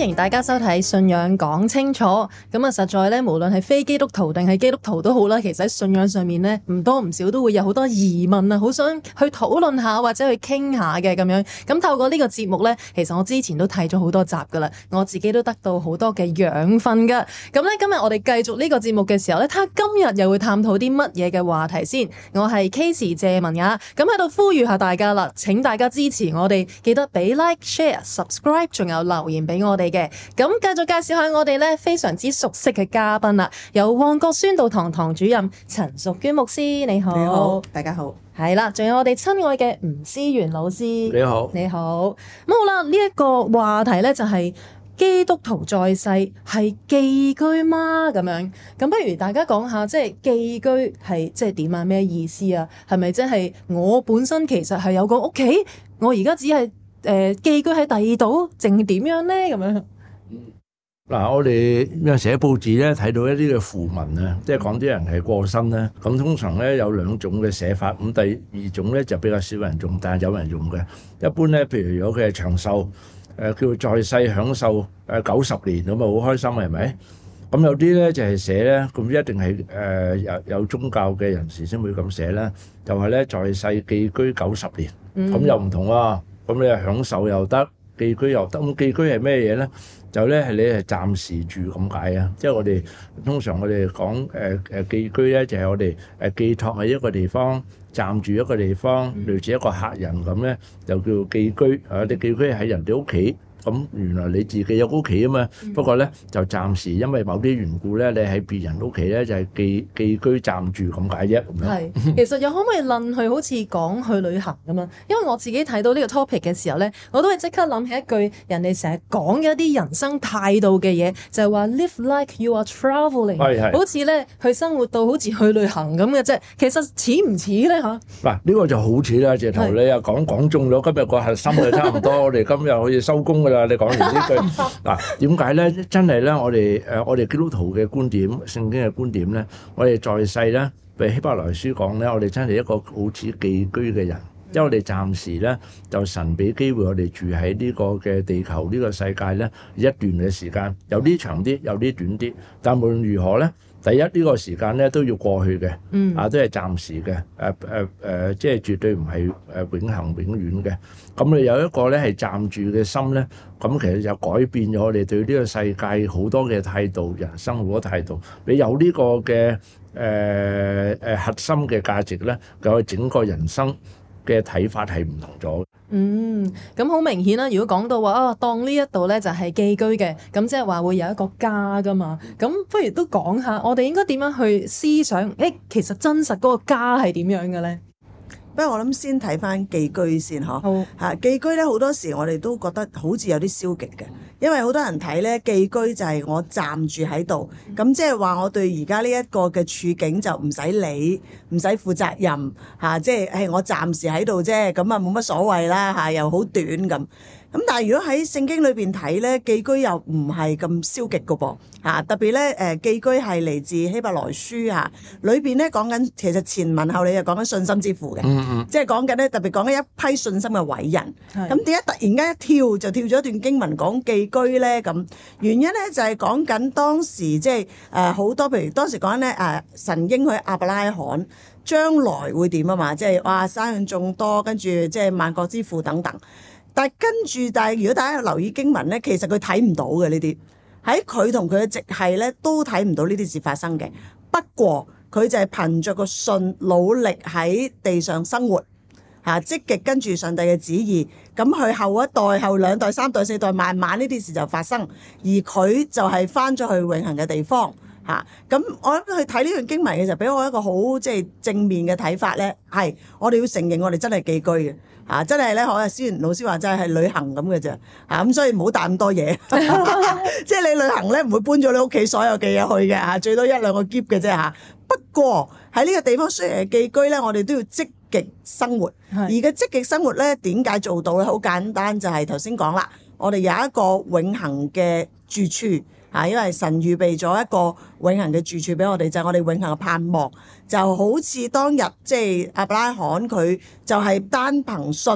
迎大家收睇信仰講清楚。咁啊，實在咧，無論係非基督徒定係基督徒都好啦，其實喺信仰上面咧，唔多唔少都會有好多疑問啊，好想去討論下或者去傾下嘅咁樣。咁透過呢個節目咧，其實我之前都睇咗好多集噶啦，我自己都得到好多嘅養分噶。咁咧，今日我哋繼續呢個節目嘅時候咧，睇下今日又會探討啲乜嘢嘅話題先。我係 Casey 謝文雅，咁喺度呼籲下大家啦，請大家支持我哋，記得俾 Like、Share、Subscribe， 仲有留言俾我哋嘅。咁繼續介紹下我哋咧非常之熟悉嘅嘉賓啦，有旺角宣道堂堂主任陳淑娟牧師，你好。 你好，大家好。 係啦，仲有我哋親愛嘅吳思源老師， 你好， 你好。咁好啦，呢一個話題咧就係基督徒在世係寄居嗎？咁樣，咁不如大家講下，即係寄居係即係點啊？咩意思啊？係咪即係我本身其實係有個屋企，我而家只係寄居喺第二度，定點樣咧？咁樣。 嗱，我哋有時喺報紙咧睇到一啲嘅訃聞啊，即係講啲人係過身咧，咁通常咧有兩種嘅寫法，咁第二種咧就比較少人用，但係有人用嘅。一般咧，譬如如果佢係長壽，叫在世享受90年咁啊，好開心係咪？咁有啲咧就係寫咧，咁一定係有宗教嘅人士先會咁寫啦，就係咧在世寄居90年，咁又唔同喎，咁你係享受又得，寄居又得。咁寄居係咩嘢咧？就咧係你係暫時住咁解啊！即係我哋通常我哋講寄居咧，就係我哋寄託喺一個地方，暫住一個地方，類似一個客人咁咧，就叫寄居。你寄居喺人哋屋企。咁原來你自己有屋企啊嘛，不過咧就暫時因為某啲緣故咧，你喺別人屋企咧就係寄居暫住咁解啫。 係，其實又可唔可以論去好似講去旅行咁樣？因為我自己睇到呢個 topic 嘅時候咧，我都係即刻諗起一句人哋成日講嘅一啲人生態度嘅嘢，就係話 live like you are travelling，好似咧去生活到好似去旅行咁嘅啫。其實似唔似咧嚇？ 嗱，呢個就好似啦，直頭你又講中咗今日個核心就差唔多。我哋今日可以收工㗎啦。你講完呢句嗱，點解咧？真係咧，我哋基督徒嘅觀點，聖經嘅觀點咧，我哋在世咧，譬如希伯來書講咧，我哋真係一個好似寄居嘅人，因為我哋暫時咧就神俾機會我哋住喺呢個嘅地球呢個世界咧一段嘅時間，有啲長啲，有啲短啲，但無論如何咧。第一呢個時間咧都要過去嘅，都係暫時嘅，即係絕對唔係永恆永遠嘅。咁你有一個咧係暫住嘅心咧，咁其實就改變咗我哋對呢個世界好多嘅態度，人生好多態度。你有呢個嘅核心嘅價值咧，佢整個人生嘅睇法係唔同咗。 咁好明顯啦。如果講到話當呢一度咧就係寄居嘅，咁即係話會有一個家噶嘛。咁不如都講下，我哋應該點樣去思想？其實真實嗰個家係點樣嘅咧？ 不過我諗先睇翻寄居先嗬。寄居咧好多時我哋都覺得好似有啲消極嘅，因為好多人睇咧寄居就係我暫住喺度，咁即係話我對而家呢一個嘅處境就唔使理，唔使負責任嚇，即係我暫時喺度啫，咁啊冇乜所謂啦嚇，又好短咁。咁但係如果喺聖經裏邊睇咧，寄居又唔係咁消極嘅噃嚇，特別咧寄居係嚟自希伯來書嚇，裏邊咧講緊其實前文後理就講緊信心之父嘅，即係講緊咧特別講緊一批信心嘅偉人。咁點解突然間一跳就跳咗一段經文講寄居咧？咁原因咧就係講緊當時即係好多，譬如當時講緊咧神應許亞伯拉罕將來會點啊嘛，即係哇生養眾多，跟住即係萬國之父等等。但係如果大家有留意經文咧，其實佢睇唔到嘅呢啲，喺佢同佢嘅直系咧都睇唔到呢啲事發生嘅。不過佢就係憑着個信，努力喺地上生活嚇，積極跟住上帝嘅旨意，咁佢後一代、後兩代、三代、四代，慢慢呢啲事就發生，而佢就係翻咗去永恆嘅地方嚇。咁我諗去睇呢段經文嘅時候，俾我一個好即係正面嘅睇法咧，係我哋要承認我哋真係寄居嘅。真係咧，好似思源老師話真係旅行咁嘅啫，咁所以唔好帶咁多嘢，即係你旅行咧唔會搬咗你屋企所有嘅嘢去嘅，最多一兩個篋嘅啫嚇。不過喺呢個地方雖然係寄居咧，我哋都要積極生活，而嘅積極生活咧點解做到咧？好簡單，就係頭先講啦，我哋有一個永恆嘅住處。因為神預備咗一個永恆嘅住處俾我哋，就係我哋永恆嘅盼望。就好似當日即係亞伯拉罕佢就係單憑信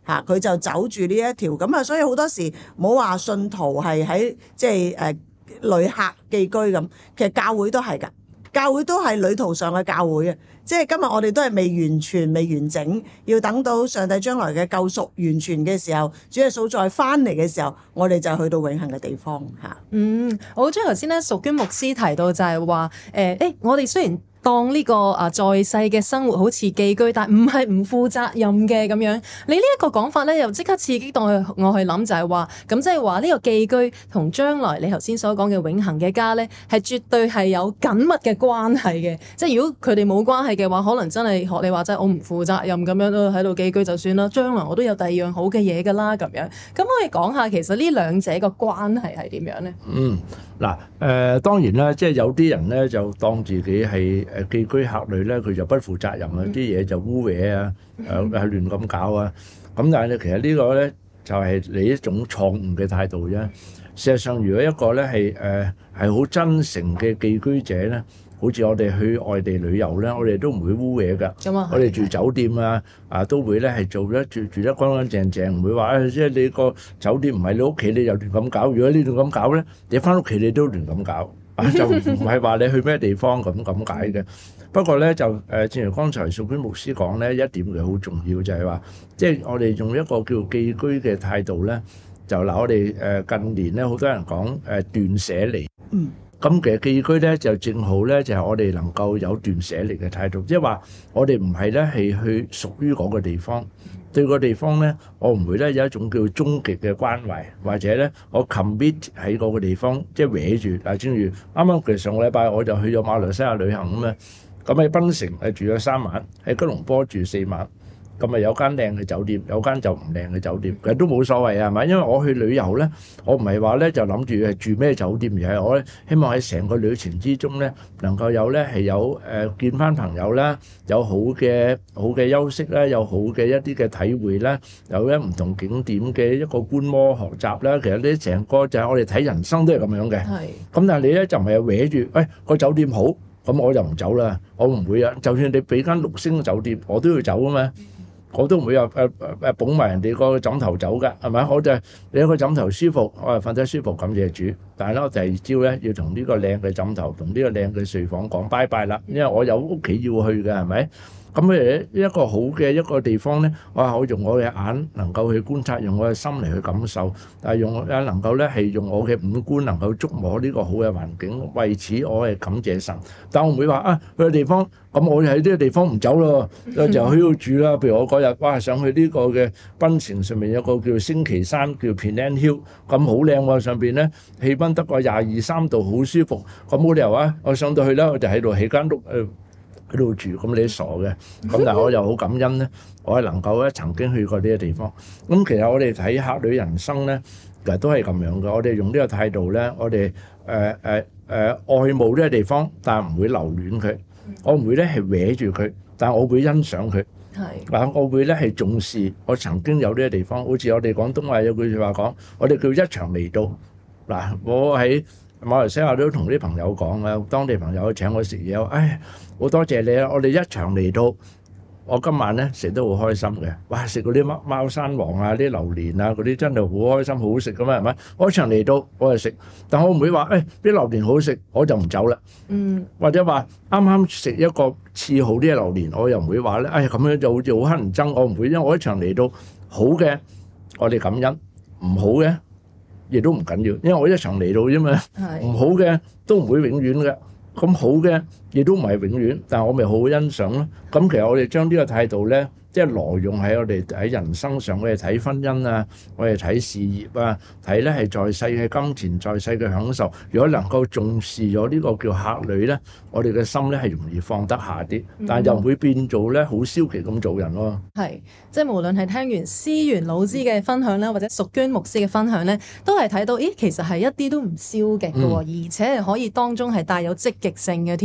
嚇，佢就走住呢一條咁啊，所以好多時冇話信徒係喺即係旅客寄居咁，其實教會都係㗎，教會都係旅途上嘅教會啊！即係今日我哋都係未完全、未完整，要等到上帝將來嘅救贖完全嘅時候，主耶穌再翻嚟嘅時候，我哋就去到永恆嘅地方嚇。 我好中意頭先咧，淑娟牧師提到就係話我哋雖然當呢個在世嘅生活好似寄居，但唔係唔負責任嘅咁樣。你呢一個講法咧，又即刻刺激到我去諗，就係話咁即係話呢個寄居同將來你頭先所講嘅永恆嘅家咧，係絕對係有緊密嘅關係嘅。即係如果佢哋冇關係嘅話，可能真係學你話齋，我唔負責任咁樣都喺度寄居就算啦。將來我都有第二樣好嘅嘢㗎啦，咁樣。咁可以講下其實呢兩者個關係係點樣咧？ 當然啦，即係有啲人咧就當自己係寄居客旅咧，佢就不負責任啊，啲嘢就污穢啊，亂咁搞啊。咁但係咧，其實呢個咧就係你一種錯誤嘅態度啫。事實上，如果一個咧係好真誠嘅寄居者咧，好似我哋去外地旅遊咧，我哋都唔會污穢㗎。我哋住酒店都會咧係住得乾乾淨淨，唔會話即係你個酒店唔係你屋企，你又亂咁搞。如果你亂咁搞咧，你翻屋企你都亂咁搞。就唔係話你去咩地方咁解嘅。不過咧就正如剛才淑娟牧師講咧，一點嘅好重要就係話，即係我哋用一個叫寄居嘅態度咧，就嗱我哋近年咧好多人講斷捨離。咁其實寄居咧就正好咧就係我哋能夠有斷捨離嘅態度，即係話我哋唔係咧係去屬於嗰個地方。對個地方咧，我唔會咧有一種叫終極嘅關懷，或者咧我 commit 喺嗰個地方，即係搲住。嗱，正如啱啱其實上個禮拜我就去咗馬來西亞旅行咁啊，咁喺檳城住咗3晚，喺吉隆坡住4晚。咁啊有間靚嘅酒店，有間就唔靚嘅酒店，其實都冇所謂啊，係咪？因為我去旅遊咧，我唔係話咧就諗住係住咩酒店，而係我咧希望喺成個旅程之中咧，能夠有咧係有見翻朋友啦，有好嘅休息啦，有好嘅一啲嘅體會啦，有咧唔同景點嘅一個觀摩學習啦。其實呢成個就係我哋睇人生都係咁樣嘅。係。咁但係你咧就唔係搲住，個酒店好，咁我就唔走啦，我唔會啊。就算你俾間6星酒店，我都要走啊嘛。我都唔會話捧埋人哋個枕頭走㗎，係咪？我就係你一個枕頭舒服，我係瞓得舒服，感謝主。但係咧，我第二朝咧要同呢個靚嘅枕頭同呢個靚嘅睡房講拜拜啦，因為我有屋企要去嘅，係咪？咁一個好嘅一個地方咧，我用我嘅眼能夠去觀察，用我嘅心嚟去感受，但係能夠咧係用我嘅五官能夠觸摸呢個好嘅環境。為此我係感謝神，但我唔會話去個地方，咁我喺呢個地方唔走咯，就喺度住啦。譬如我嗰日上去呢個嘅檳城上面有個叫星旗山，叫 Penang Hill， 咁好靚喎，上邊咧氣溫得個22、23度，好舒服。咁冇理由我上到去咧，我就喺度起間屋喺度住，咁你傻嘅。咁但係我又好感恩咧，我係能夠咧曾經去過呢個地方。咁其實我哋睇客旅人生咧，其實都係咁樣嘅。我哋用呢個態度咧，我哋愛慕呢個地方，但係唔會留戀佢。我唔會咧係搲住佢，但係我會欣賞佢。係，我會咧係重視我曾經有呢個地方。好似我哋廣東話有句説話講，我哋叫一場嚟到。嗱，我喺馬來西亞都同啲朋友講啊，當地朋友請我食嘢，好多謝你啊！我哋一場嚟到，我今晚咧食得好開心嘅。哇！食嗰啲貓山王啊，啲榴蓮啊，嗰啲真係好開心，好好食噶嘛，係咪？我一場嚟到，我就食，但我唔會話啲榴蓮好食，我就唔走啦。或者話啱啱食一個次好啲嘅榴蓮，我又唔會話咧，咁樣就好似好乞人憎，我唔會，因為我一場嚟到好嘅，我哋感恩；唔好嘅，亦都唔緊要，因為我一場嚟到啫嘛。唔好嘅都唔會永遠嘅。咁好嘅亦都唔係永遠，但係我咪好好欣賞咯。咁其實我哋將呢個態度咧，即係挪用喺我哋喺人生上，我哋睇婚姻啊，我哋睇事業啊，睇咧係在世嘅金錢，在世嘅享受。如果能夠重視咗呢個叫客旅咧，我哋嘅心咧係容易放得下啲，但係又唔會變做咧好消極咁做人咯。 係，即係無論係聽完思源老師嘅分享咧，或者淑娟牧師嘅分享咧，都係睇到，其實係一啲都唔消極嘅，而且係可以當中係帶有積極性嘅添。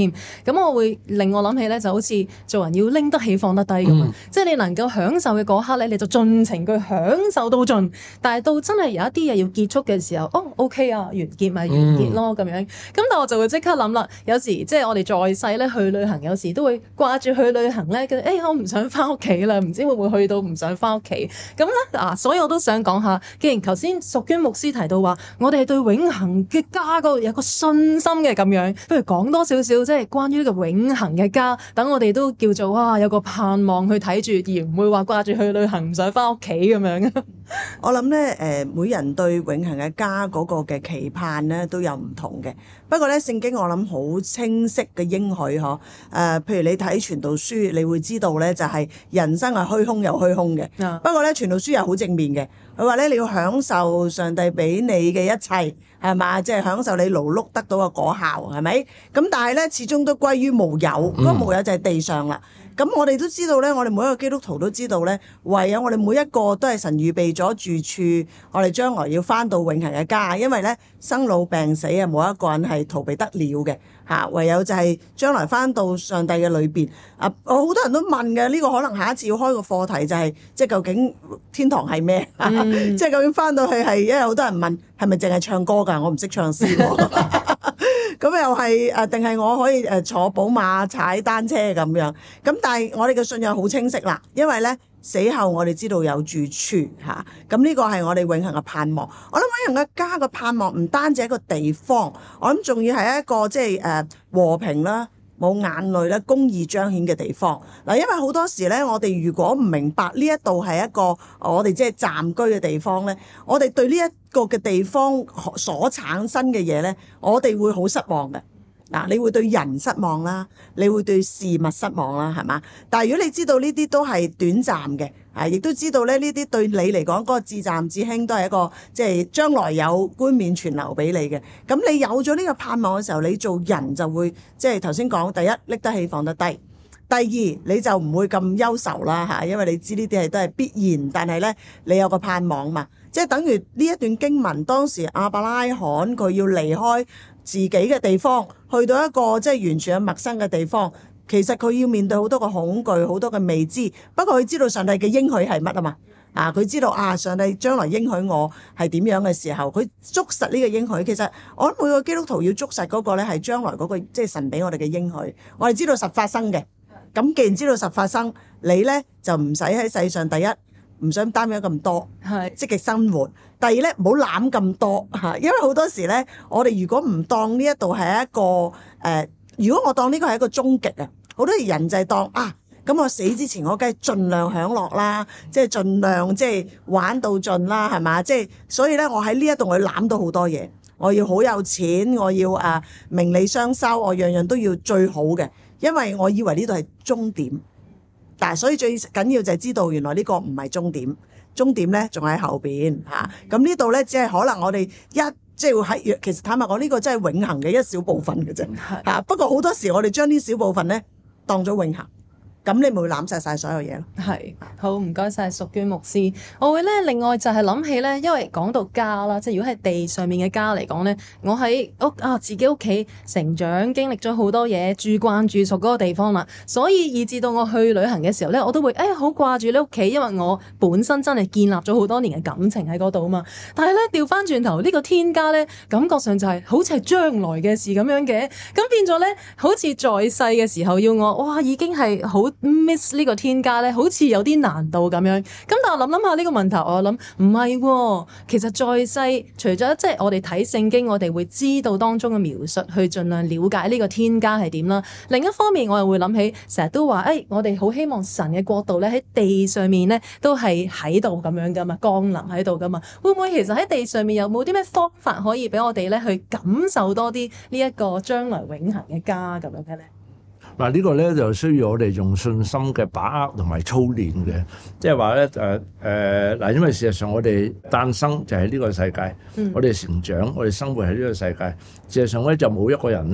咁我會令我諗起咧，就好似做人要拎得起放得低咁啊！即係你能夠享受嘅嗰刻咧，你就盡情去享受到盡。但係到真係有一啲嘢要結束嘅時候，OK 啊，完結咪完結咯咁樣。咁但我就會即刻諗啦，有時即係我哋在世咧去旅行，有時都會掛住去旅行咧，我唔想翻屋企啦，唔知會唔會去到唔想翻屋企咁咧所以我都想講下，既然頭先淑娟牧師提到話，我哋對永恆嘅家嗰度有個信心嘅咁樣，不如講多少少即係關於呢個永恆嘅家，等我哋都叫做有個盼望去睇住，而唔會話掛住去旅行唔想翻屋企咁樣。 我諗咧每人對永恆嘅家嗰個嘅期盼咧都有唔同嘅。不過咧聖經我諗好清晰嘅應許譬如你睇傳道書，你會知道咧就係人生係虛空又虛空嘅。不過咧傳道書又好正面嘅，佢話咧你要享受上帝俾你嘅一切，係嘛？即係享受你勞碌得到嘅果效，係咪？咁但係咧始終都歸於無有，嗰個無有就係地上啦。咁我哋都知道咧，我哋每一個基督徒都知道咧，唯有我哋每一個都係神預備咗住處，我哋將來要返到永恆嘅家。因為咧生老病死冇一個人係逃避得了嘅嚇，唯有就係將來返到上帝嘅裏邊。我好多人都問嘅，呢個可能下一次要開個課題就係即係究竟天堂係咩？即係究竟返到去係，因為好多人問係咪淨係唱歌㗎？我唔識唱詩喎。咁又係定係我可以坐寶馬踩單車咁樣？咁但係我哋嘅信仰好清晰啦，因為咧死後我哋知道有住處嚇，咁呢個係我哋永恆嘅盼望。我諗永恆嘅家嘅盼望唔單止係一個地方，我諗仲要係一個即係和平啦、冇眼淚啦、公義彰顯嘅地方。嗱，因為好多時咧，我哋如果唔明白呢一度係一個我哋即係暫居嘅地方咧，我哋對呢一個嘅地方所產生嘅嘢咧，我哋會好失望嘅。嗱，你會對人失望啦，你會對事物失望啦，係嘛？但係如果你知道呢啲都係短暫嘅，亦都知道咧呢啲對你嚟講嗰個至暫至輕都係一個即係將來有冠冕存留俾你嘅。咁你有咗呢個盼望嘅時候，你做人就會即係頭先講，第一拎得起放得低，第二你就唔會咁憂愁啦嚇，因為你知呢啲係都係必然，但係咧你有個盼望嘛，即係等於呢一段經文當時亞伯拉罕佢要離開自己嘅地方，去到一個即係完全係陌生嘅地方，其實佢要面對好多個恐懼，好多嘅未知。不過佢知道上帝嘅應許係乜啊嘛，佢知道上帝將來應許我係點樣嘅時候，佢捉實呢個應許。其實我諗每個基督徒要捉實嗰個咧係將來嗰個即係神俾我哋嘅應許，我哋知道實發生嘅。咁既然知道實發生，你咧就唔使喺世上第一唔想擔憂咁多，積極生活。第二咧，唔好攬咁多嚇，因為好多時咧，我哋如果唔當呢一度係一個如果我當呢個係一個終極啊，好多人就係當咁我死之前我梗係盡量享樂啦，即係盡量即係玩到盡啦，係嘛？即係所以咧，我喺呢一度我攬到好多嘢，我要好有錢，我要名利雙收，我樣樣都要最好嘅，因為我以為呢度係終點。但係所以最緊要就係知道原來呢個唔係終點，終點咧仲喺後邊嚇。咁呢度咧只係可能我哋即係喺其實坦白講呢個真係永恆嘅一小部分嘅啫嚇。不過好多時我哋將呢小部分咧當咗永恆。咁你咪會攬晒所有嘢咯。 係，好唔該晒淑娟牧師。我會咧另外就係諗起咧，因為講到家啦，即係如果係地上面嘅家嚟講咧，我喺自己屋企成長，經歷咗好多嘢，住慣住熟嗰個地方啦，所以以至到我去旅行嘅時候咧，我都會好掛住你屋企，因為我本身真係建立咗好多年嘅感情喺嗰度啊嘛。但係咧調翻轉頭呢個天家咧，感覺上就係好似係將來嘅事咁樣嘅，咁變咗咧好似在世嘅時候要我已經係好miss 呢個天家咧，好似有啲難度咁樣。咁但係我諗下呢個問題，我諗唔係喎。其實在世除咗即係我哋睇聖經，我哋會知道當中嘅描述，去盡量了解呢個天家係點啦。另一方面，我又會諗起成日都話，我哋好希望神嘅國度咧喺地上面咧都係喺度咁樣噶嘛，降臨喺度噶嘛。會唔會其實喺地上面有冇啲咩方法可以俾我哋咧去感受多啲呢一個將來永恆嘅家咁樣嘅咧？ 嗱，呢個咧就需要我哋用信心嘅把握同埋操練嘅，即係話咧因為事實上我哋誕生就喺呢個世界，我哋成長，我哋生活喺呢個世界，事實上咧就冇一個人咧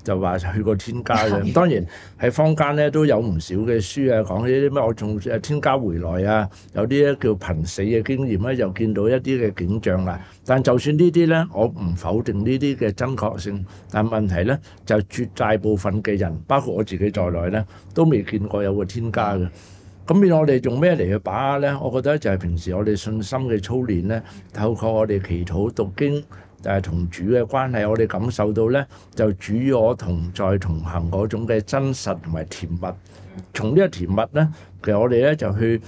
就話去過天家嘅。當然喺坊間咧都有唔少嘅書啊，講呢啲咩我從天家回來啊，有啲咧叫瀕死嘅經驗咧，又見到一啲嘅景象啦。但就算呢啲咧，我唔否定呢啲嘅真確性，但問題咧就絕大部分嘅人，包括我自己在內咧，都未見過有個天家嘅。咁變我哋用咩嚟去把握咧？我覺得就係平時我哋信心嘅操練咧，透過我哋祈禱讀經，同主嘅關係，我哋感受到咧，就主與我同在同行嗰種嘅真實同埋甜蜜。從呢個甜蜜咧，其實我哋咧就去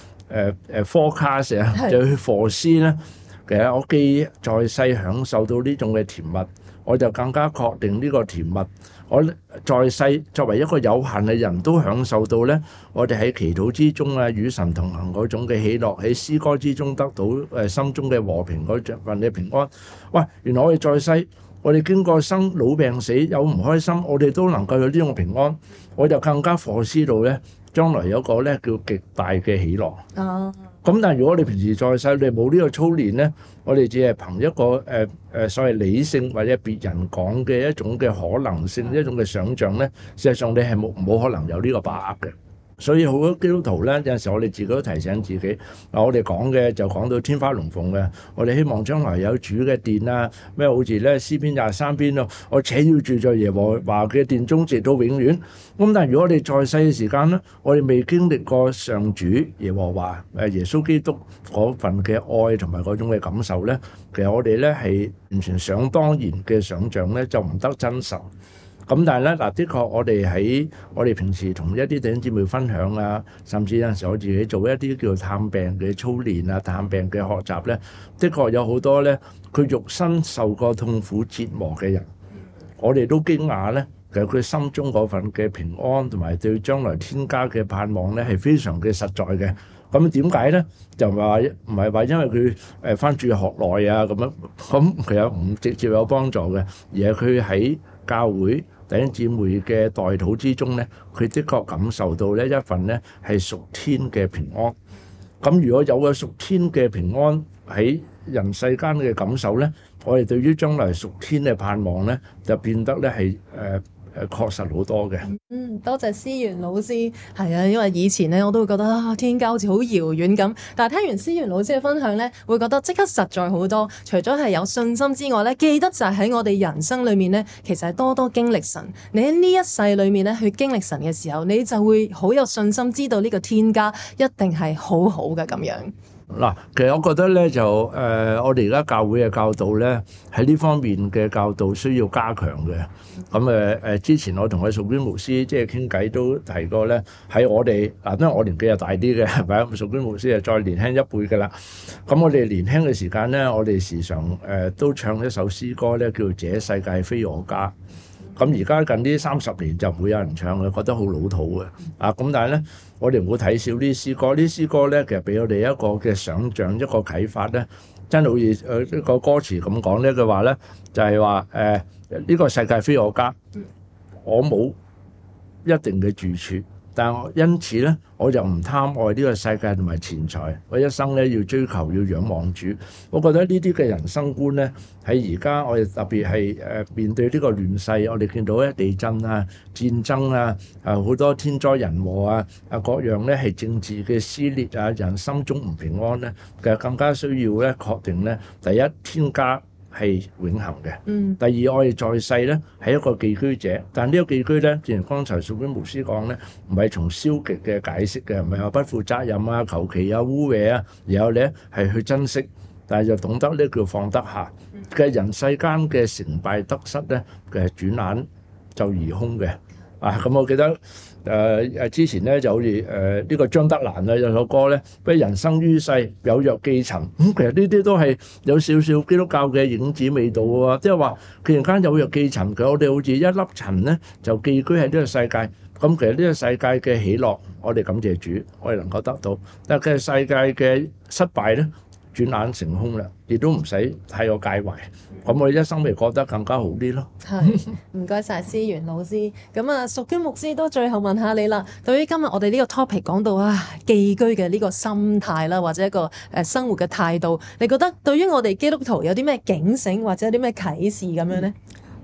forecast 啊，就去 foresee 咧。其實我既在世享受到呢種嘅甜蜜，我就更加確定呢個甜蜜。我在世作為一個有限嘅人都享受到咧，我哋喺祈禱之中啊，與神同行嗰種嘅喜樂，喺詩歌之中得到心中嘅和平嗰份嘅平安。喂，原來我哋在世，我哋經過生老病死有唔開心，我哋都能夠有呢種平安，我就更加foresee到咧，將來有個咧叫極大嘅喜樂。咁但係如果你平時在世你冇呢個操練咧，我哋只係憑一個所謂理性或者別人講嘅一種嘅可能性，一種嘅想像咧，事實上你係冇可能有呢個把握嘅。所以好多基督徒咧，有陣時我哋自己都提醒自己，我哋講嘅就講到天花龍鳳嘅，我哋希望將來有主嘅殿啊，咩好似咧詩篇23篇咯，我且要住在耶和華嘅殿中直到永遠。咁但係如果我哋在世嘅時間咧，我哋未經歷過上主耶和華耶穌基督嗰份嘅愛同埋嗰種嘅感受咧，其實我哋咧係完全想當然嘅想像咧，就唔得真實。咁但係咧，的確我哋喺我哋平時同一啲弟兄姊妹分享啊，甚至有陣時我自己做一啲叫探病嘅操練啊、探病嘅學習咧，的確有好多咧，佢肉身受過痛苦折磨嘅人，我哋都驚訝咧，其實佢心中嗰份嘅平安同埋對將來天家嘅盼望咧，係非常嘅實在嘅。咁點解咧？就唔係話因為佢返住學內啊咁樣，咁其實唔直接有幫助嘅，而係佢喺教會弟兄姊妹嘅代禱之中咧，佢的確感受到咧一份咧係屬天嘅平安。咁如果有個屬天嘅平安喺人世間嘅感受咧，我哋對於將來屬天嘅盼望咧，就變得咧係確實好多嘅。 多謝思源老師。係啊，因為以前咧我都會覺得天家好似好遙遠咁，但係聽完思源老師嘅分享咧，會覺得即刻實在好多。除咗係有信心之外咧，記得就係喺我哋人生裏面咧，其實係多多經歷神。你喺呢一世裏面咧去經歷神嘅時候，你就會好有信心，知道呢個天家一定係好好嘅咁樣。 嗱，其實我覺得咧就我哋而家教會嘅教導咧，喺呢方面嘅教導需要加強嘅。咁之前我同佢淑娟牧師即係傾偈都提過咧，喺我哋因為我年紀又大啲嘅，係咪啊？淑娟牧師係再年輕一輩嘅啦。咁我哋年輕嘅時間咧，我哋時常都唱一首詩歌咧，叫做《這世界非我家》。咁而家近呢30年就唔會有人唱嘅，覺得好老土嘅。咁但係咧，我哋唔好睇少啲詩歌。啲詩歌咧，其實俾我哋一個嘅想像，一個啟發咧，真係好似一個歌詞咁講呢句話咧，就係話呢個世界非我家，我冇一定嘅住處。但係因此咧，我就唔貪愛呢個世界同埋錢財，我一生咧要追求要仰望主。我覺得呢啲嘅人生觀咧，喺而家我哋特別係面對呢個亂世，我哋見到咧地震啊、戰爭啊、好多天災人禍啊、各樣咧係政治嘅撕裂啊，人心中唔平安咧，其實更加需要咧確定咧，第一天家係永恆嘅。第二，我哋在世咧係一個寄居者，但呢個寄居咧，正如剛才淑娟牧師講咧，唔係從消極嘅解釋嘅，唔係話不負責任啊、求其啊、污穢啊，然後咧係去珍惜，但係就懂得呢叫放得下嘅人世間嘅成敗得失咧嘅轉眼就而空嘅。咁我記得之前咧就好似呢個張德蘭有首歌咧，咩人生於世有若寄塵。其實呢啲都係有少少基督教嘅影子味道喎，即係話既然間有若寄塵嘅，我哋好似一粒塵咧就寄居喺呢個世界。咁其實呢個世界嘅喜樂，我哋感謝主，我哋能夠得到。但係世界嘅失敗咧，轉眼成空啦，亦都唔使太過介懷。咁我哋一生咪過得更加好啲咯。 係，唔該晒思源老師。咁淑娟牧師都最後問下你啦。對於今日我哋呢個 topic 講到寄居嘅呢個心態啦，或者一個生活嘅態度，你覺得對於我哋基督徒有啲咩警醒或者有啲咩啟示咁樣呢？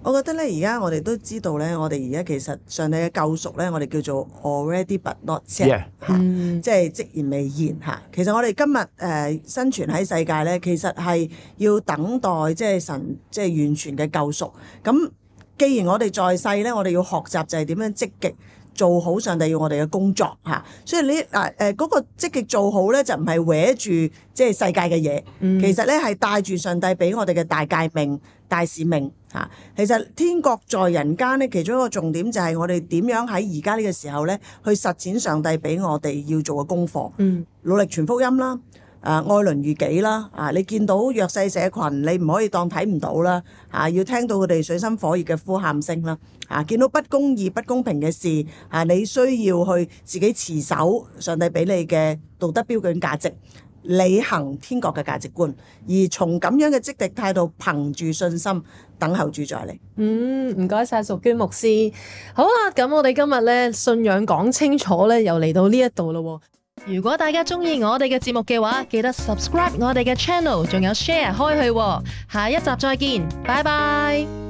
我覺得咧，而家我哋都知道咧，我哋而家其實上帝嘅救贖咧，我哋叫做 already but not yet 即係即然未然嚇。其實我哋今日生存喺世界咧，其實係要等待即係神即係完全嘅救贖。咁既然我哋在世咧，我哋要學習就係點樣積極做好上帝要我哋嘅工作嚇。所以嗰個積極做好咧，就唔係搲住即係世界嘅嘢，其實咧係帶住上帝俾我哋嘅大誡命、大使命。其實天國在人間咧，其中一個重點就係我哋點樣喺而家呢個時候咧，去實踐上帝俾我哋要做嘅功課。努力傳福音啦，愛鄰如己啦。你見到弱勢社群，你唔可以當睇唔到啦。要聽到佢哋水深火熱嘅呼喊聲啦。見到不公義、不公平嘅事，你需要去自己持守上帝俾你嘅道德標準價值，履行天國嘅價值觀，而從咁樣嘅積極態度，憑住信心等候主再嚟。 唔該晒淑娟牧師。好啦，咁我哋今日咧信仰講清楚咧，又嚟到呢一度咯。如果大家中意我哋嘅節目嘅話，記得 subscribe 我哋嘅 channel， 仲有 share 開去。下一集再見，拜拜。